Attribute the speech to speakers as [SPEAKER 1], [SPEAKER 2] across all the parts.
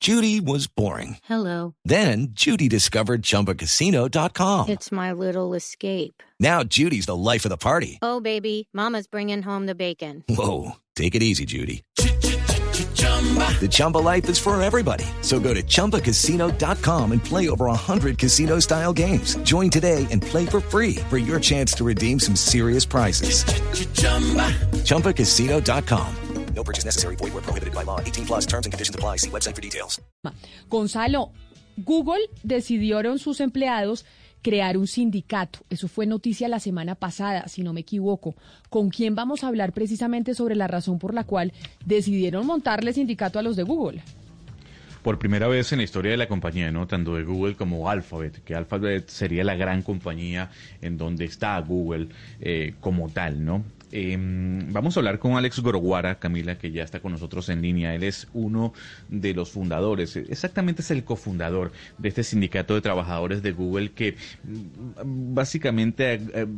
[SPEAKER 1] Judy was boring.
[SPEAKER 2] Hello.
[SPEAKER 1] Then Judy discovered ChumbaCasino.com.
[SPEAKER 2] It's my little escape.
[SPEAKER 1] Now Judy's the life of the party.
[SPEAKER 2] Oh, baby, mama's bringing home the bacon.
[SPEAKER 1] Whoa, take it easy, Judy. The Chumba life is for everybody. So go to ChumbaCasino.com and play over 100 casino-style games. Join today and play for free for your chance to redeem some serious prizes. ChumbaCasino.com. No purchase necessary. Void where prohibited by law. 18 plus terms and conditions apply. See website for details.
[SPEAKER 3] Gonzalo, Google decidieron sus empleados crear un sindicato. Eso fue noticia la semana pasada, si no me equivoco. ¿Con quién vamos a hablar precisamente sobre la razón por la cual decidieron montarle sindicato a los de Google?
[SPEAKER 4] Por primera vez en la historia de la compañía, ¿no? Tanto de Google como Alphabet, que Alphabet sería la gran compañía en donde está Google como tal, ¿no? Vamos a hablar con Alex Goroguara, Camila, que ya está con nosotros en línea. Él es uno de los fundadores, exactamente es el cofundador de este sindicato de trabajadores de Google que básicamente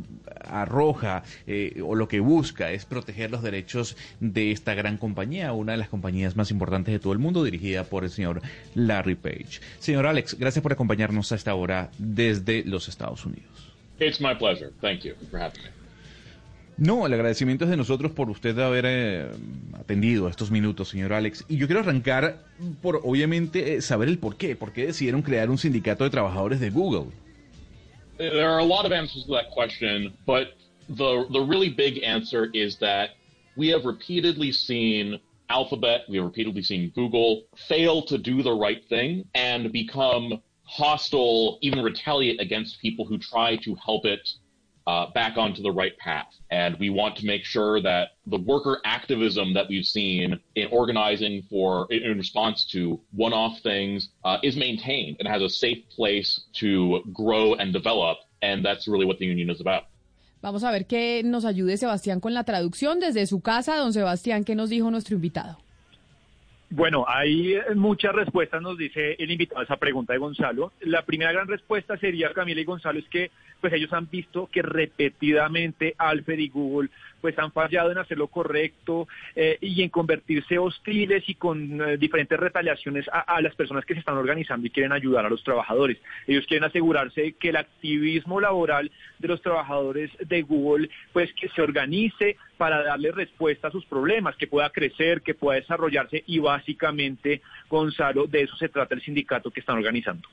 [SPEAKER 4] arroja o lo que busca es proteger los derechos de esta gran compañía, una de las compañías más importantes de todo el mundo, dirigida por el señor Larry Page. Señor Alex, gracias por acompañarnos a esta hora desde los Estados Unidos.
[SPEAKER 5] It's my pleasure. Thank you for having me.
[SPEAKER 4] No, el agradecimiento es de nosotros por usted haber atendido estos minutos, señor Alex. Y yo quiero arrancar por, obviamente, saber el por qué. ¿Por qué decidieron crear un sindicato de trabajadores de Google?
[SPEAKER 5] There are a lot of answers to that question, but the really big answer is that we have repeatedly seen Alphabet, we have repeatedly seen Google fail to do the right thing and become hostile, even retaliate against people who try to help it back onto the right path. And we want to make sure that the worker activism that we've seen in organizing in response to one-off things is maintained and has a safe place to grow and develop. And that's really what the union is about.
[SPEAKER 3] Vamos a ver que nos ayude Sebastián con la traducción desde su casa. Don Sebastián, ¿qué nos dijo nuestro invitado?
[SPEAKER 6] Bueno, hay muchas respuestas, nos dice el invitado a esa pregunta de Gonzalo. La primera gran respuesta sería, Camila y Gonzalo, es que pues ellos han visto que repetidamente Alphabet y Google pues han fallado en hacer lo correcto y en convertirse hostiles y con diferentes retaliaciones a las personas que se están organizando y quieren ayudar a los trabajadores. Ellos quieren asegurarse que el activismo laboral de los trabajadores de Google pues que se organice para darle respuesta a sus problemas, que pueda crecer, que pueda desarrollarse y básicamente, Gonzalo, de eso se trata el sindicato que están organizando.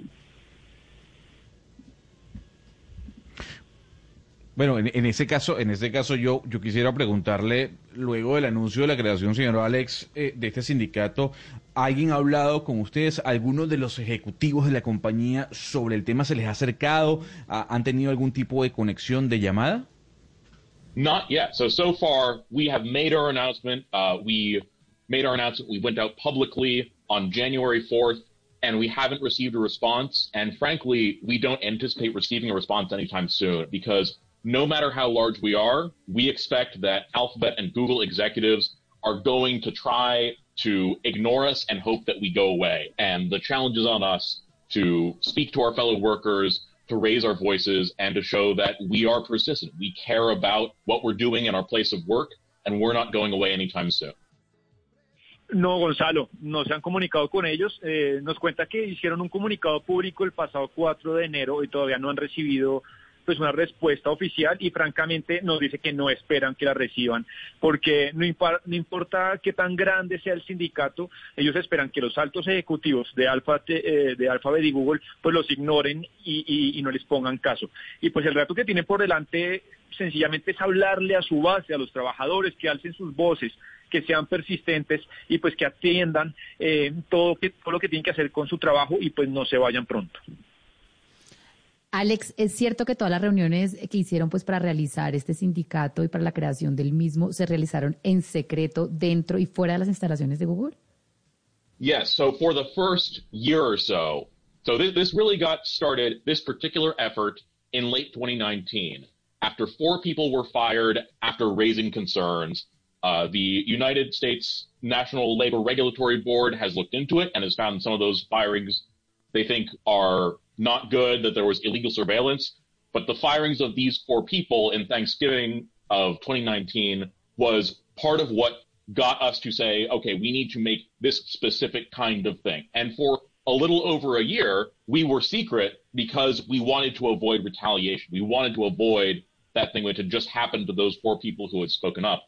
[SPEAKER 4] Bueno, en ese caso yo quisiera preguntarle, luego del anuncio de la creación, señor Alex, de este sindicato, ¿alguien ha hablado con ustedes, algunos de los ejecutivos de la compañía sobre el tema? ¿Se les ha acercado? ¿Han tenido algún tipo de conexión de llamada?
[SPEAKER 5] Not yet. So far, we have made our announcement. We went out publicly on January 4th, and we haven't received a response. And frankly, we don't anticipate receiving a response anytime soon because no matter how large we are, we expect that Alphabet and Google executives are going to try to ignore us and hope that we go away. And the challenge is on us to speak to our fellow workers, to raise our voices, and to show that we are persistent. We care about what we're doing in our place of work, and we're not going away anytime soon.
[SPEAKER 6] No, Gonzalo, no se han comunicado con ellos. Nos cuenta que hicieron un comunicado público el pasado 4 de enero y todavía no han recibido pues una respuesta oficial y francamente nos dice que no esperan que la reciban porque no importa qué tan grande sea el sindicato, ellos esperan que los altos ejecutivos de Alphabet y Google pues los ignoren y no les pongan caso. Y pues el reto que tienen por delante sencillamente es hablarle a su base, a los trabajadores, que alcen sus voces, que sean persistentes y pues que atiendan todo lo que tienen que hacer con su trabajo y pues no se vayan pronto.
[SPEAKER 7] Alex, ¿es cierto que todas las reuniones que hicieron pues para realizar este sindicato y para la creación del mismo se realizaron en secreto dentro y fuera de las instalaciones de Google?
[SPEAKER 5] Yes, so for the first year or so this really got started, this particular effort, in late 2019. After 4 people were fired after raising concerns, the United States National Labor Regulatory Board has looked into it and has found some of those firings they think are not good, that there was illegal surveillance. But the firings of these 4 people in Thanksgiving of 2019 was part of what got us to say, okay, we need to make this specific kind of thing. And for a little over a year, we were secret because we wanted to avoid retaliation. We wanted to avoid that thing which had just happened to those 4 people who had spoken up.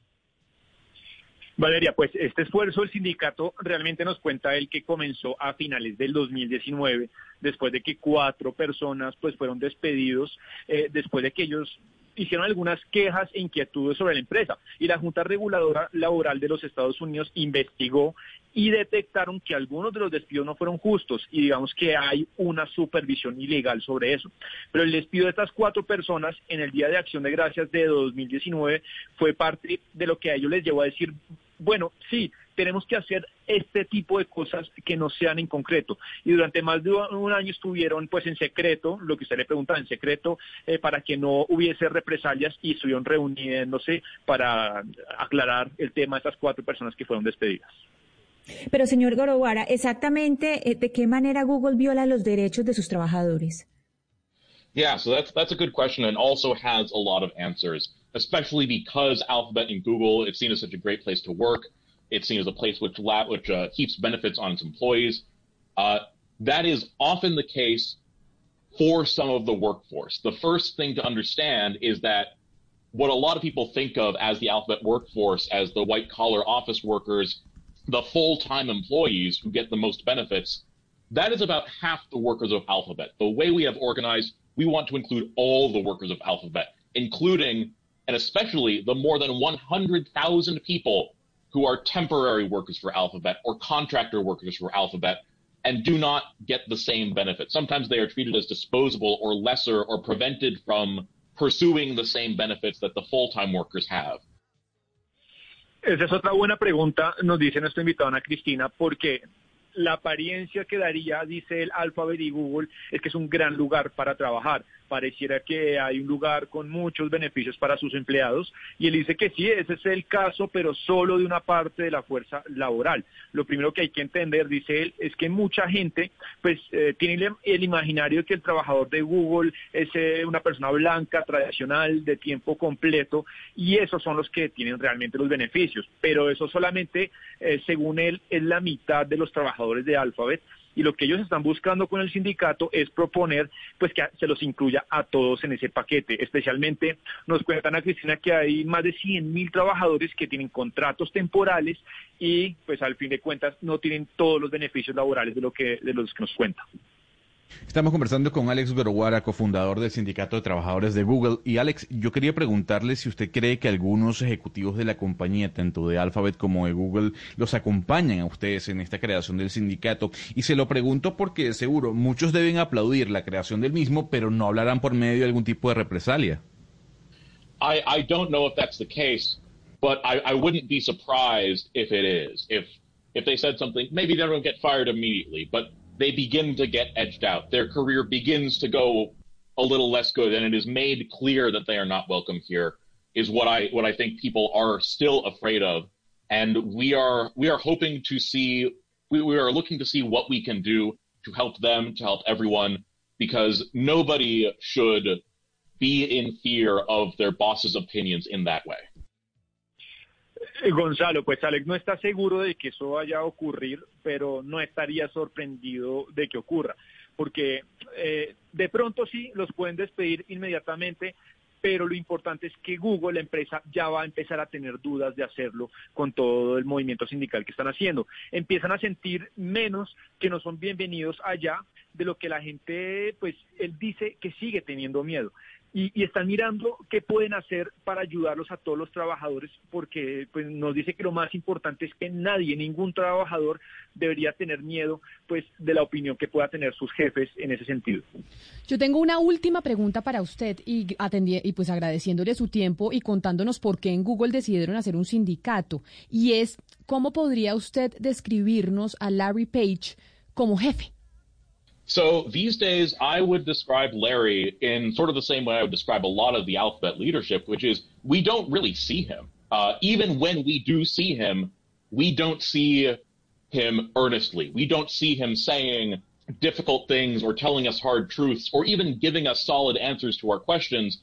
[SPEAKER 6] Valeria, pues este esfuerzo del sindicato realmente nos cuenta él que comenzó a finales del 2019, después de que 4 personas pues fueron despedidos, después de que ellos hicieron algunas quejas e inquietudes sobre la empresa. Y la Junta Reguladora Laboral de los Estados Unidos investigó y detectaron que algunos de los despidos no fueron justos y digamos que hay una supervisión ilegal sobre eso. Pero el despido de estas 4 personas en el Día de Acción de Gracias de 2019 fue parte de lo que a ellos les llevó a decir, bueno, sí, tenemos que hacer este tipo de cosas que no sean en concreto. Y durante más de un año estuvieron pues en secreto, lo que usted le preguntaba, en secreto, para que no hubiese represalias y estuvieron reuniéndose para aclarar el tema de estas 4 personas que fueron despedidas.
[SPEAKER 8] Pero, señor Goroguara, exactamente, ¿de qué manera Google viola los derechos de sus trabajadores?
[SPEAKER 5] Yeah, so that's a good question and also has a lot of answers, especially because Alphabet and Google, it's seen as such a great place to work. It's seen as a place which heaps benefits on its employees. That is often the case for some of the workforce. The first thing to understand is that what a lot of people think of as the Alphabet workforce, as the white-collar office workers, the full-time employees who get the most benefits, that is about half the workers of Alphabet. The way we have organized, we want to include all the workers of Alphabet, including and especially the more than 100,000 people who are temporary workers for Alphabet or contractor workers for Alphabet and do not get the same benefits. Sometimes they are treated as disposable or lesser or prevented from pursuing the same benefits that the full-time workers have.
[SPEAKER 6] Esa es otra buena pregunta, nos dice nuestra invitada Ana Cristina, porque la apariencia que daría, dice el Alphabet y Google, es que es un gran lugar para trabajar. Pareciera que hay un lugar con muchos beneficios para sus empleados y él dice que sí, ese es el caso, pero solo de una parte de la fuerza laboral. Lo primero que hay que entender, dice él, es que mucha gente pues tiene el imaginario de que el trabajador de Google es una persona blanca, tradicional, de tiempo completo y esos son los que tienen realmente los beneficios, pero eso solamente, según él, es la mitad de los trabajadores de Alphabet. Y lo que ellos están buscando con el sindicato es proponer pues que se los incluya a todos en ese paquete. Especialmente nos cuentan a Cristina que hay más de 100,000 trabajadores que tienen contratos temporales y pues al fin de cuentas no tienen todos los beneficios laborales de los que nos cuenta.
[SPEAKER 4] Estamos conversando con Alex Goroguara, cofundador del Sindicato de Trabajadores de Google. Y Alex, yo quería preguntarle si usted cree que algunos ejecutivos de la compañía, tanto de Alphabet como de Google, los acompañan a ustedes en esta creación del sindicato. Y se lo pregunto porque seguro muchos deben aplaudir la creación del mismo, pero no hablarán por medio de algún tipo de represalia.
[SPEAKER 5] I don't know if that's the case, but I wouldn't be surprised if it is. If they said something, maybe they don't get fired immediately, but they begin to get edged out. Their career begins to go a little less good, and it is made clear that they are not welcome here, is what I think people are still afraid of. And we are hoping to see, we are looking to see what we can do to help them, to help everyone, because nobody should be in fear of their boss's opinions in that way.
[SPEAKER 6] Gonzalo, pues Alex no está seguro de que eso vaya a ocurrir, pero no estaría sorprendido de que ocurra, porque de pronto sí los pueden despedir inmediatamente, pero lo importante es que Google, la empresa, ya va a empezar a tener dudas de hacerlo con todo el movimiento sindical que están haciendo. Empiezan a sentir menos que no son bienvenidos allá, de lo que la gente, pues él dice que sigue teniendo miedo. Y están mirando qué pueden hacer para ayudarlos a todos los trabajadores, porque pues nos dice que lo más importante es que ningún trabajador debería tener miedo pues de la opinión que pueda tener sus jefes en ese sentido.
[SPEAKER 3] Yo tengo una última pregunta para usted y pues agradeciéndole su tiempo y contándonos por qué en Google decidieron hacer un sindicato. Y es, ¿cómo podría usted describirnos a Larry Page como jefe?
[SPEAKER 5] So these days, I would describe Larry in sort of the same way I would describe a lot of the Alphabet leadership, which is we don't really see him. Even when we do see him, we don't see him earnestly. We don't see him saying difficult things or telling us hard truths or even giving us solid answers to our questions.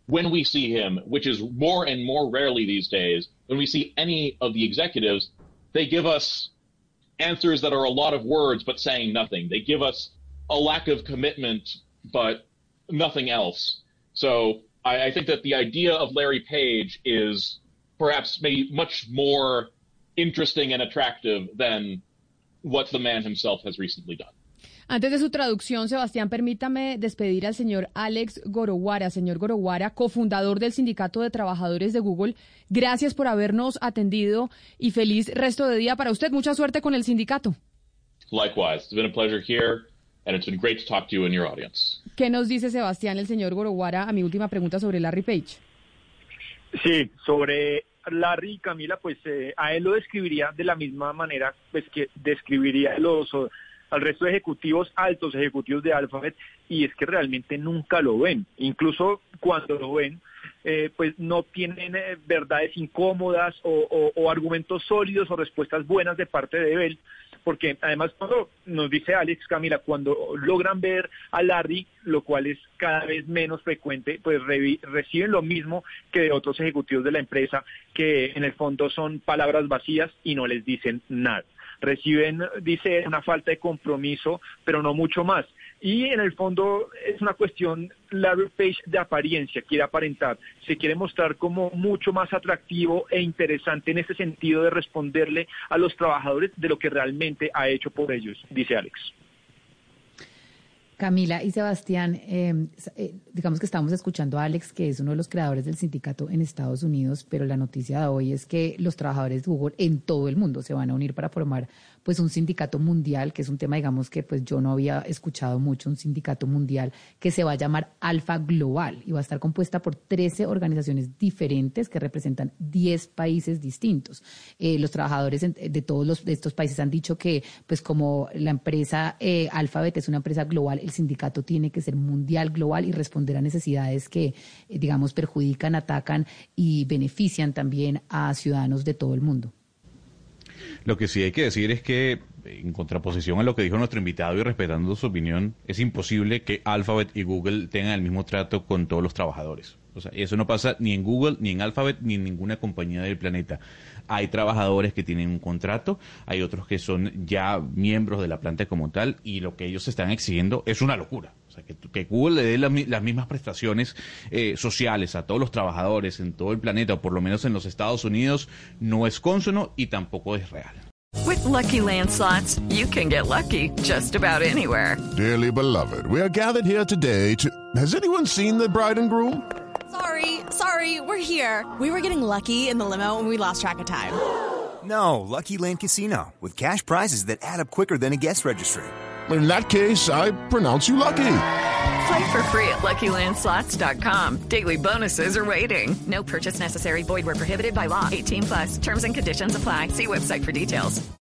[SPEAKER 5] when we see him, which is more and more rarely these days, when we see any of the executives, they give us answers that are a lot of words but saying nothing. They give us a lack of commitment but nothing else. So I think that the idea of Larry Page is perhaps maybe much more interesting and attractive than what the man himself has recently done.
[SPEAKER 3] Antes de su traducción, Sebastián, permítame despedir al señor Alex Goroguara. Señor Goroguara, cofundador del Sindicato de Trabajadores de Google, gracias por habernos atendido y feliz resto de día para usted. Mucha suerte con el sindicato.
[SPEAKER 5] Likewise. It's been a pleasure here, and it's been great to talk to you and your audience.
[SPEAKER 3] ¿Qué nos dice, Sebastián, el señor Goroguara, a mi última pregunta sobre Larry Page?
[SPEAKER 6] Sí, sobre Larry y Camila, pues a él lo describiría de la misma manera pues que describiría al resto de ejecutivos, altos ejecutivos de Alphabet, y es que realmente nunca lo ven. Incluso cuando lo ven, pues no tienen verdades incómodas o argumentos sólidos o respuestas buenas de parte de él, porque además cuando nos dice Alex, Camila, cuando logran ver a Larry, lo cual es cada vez menos frecuente, pues reciben lo mismo que de otros ejecutivos de la empresa, que en el fondo son palabras vacías y no les dicen nada. Reciben, dice, una falta de compromiso, pero no mucho más. Y en el fondo es una cuestión, Larry Page, de apariencia, quiere aparentar, se quiere mostrar como mucho más atractivo e interesante en ese sentido de responderle a los trabajadores de lo que realmente ha hecho por ellos, dice Alex.
[SPEAKER 7] Camila y Sebastián, digamos que estamos escuchando a Alex, que es uno de los creadores del sindicato en Estados Unidos, pero la noticia de hoy es que los trabajadores de Google en todo el mundo se van a unir para formar pues un sindicato mundial, que es un tema, digamos, que pues yo no había escuchado mucho, un sindicato mundial que se va a llamar Alfa Global y va a estar compuesta por 13 organizaciones diferentes que representan 10 países distintos. Los trabajadores de todos de estos países han dicho que pues como la empresa Alphabet es una empresa global, el sindicato tiene que ser mundial, global y responder a necesidades que, digamos, perjudican, atacan y benefician también a ciudadanos de todo el mundo.
[SPEAKER 4] Lo que sí hay que decir es que, en contraposición a lo que dijo nuestro invitado y respetando su opinión, es imposible que Alphabet y Google tengan el mismo trato con todos los trabajadores. O sea, eso no pasa ni en Google, ni en Alphabet, ni en ninguna compañía del planeta. Hay trabajadores que tienen un contrato, hay otros que son ya miembros de la planta como tal, y lo que ellos están exigiendo es una locura. O sea, que Google le dé las mismas prestaciones sociales a todos los trabajadores en todo el planeta, o por lo menos en los Estados Unidos, no es cónsono y tampoco es real.
[SPEAKER 9] With Lucky Land Slots, you can get lucky just about anywhere.
[SPEAKER 10] Dearly beloved, we are gathered here today to... Has anyone seen the bride and groom?
[SPEAKER 11] Sorry, we're here. We were getting lucky in the limo and we lost track of time.
[SPEAKER 12] No, Lucky Land Casino, with cash prizes that add up quicker than a guest registry.
[SPEAKER 10] In that case, I pronounce you lucky.
[SPEAKER 9] Play for free at LuckyLandSlots.com. Daily bonuses are waiting. No purchase necessary. Void where prohibited by law. 18+. Terms and conditions apply. See website for details.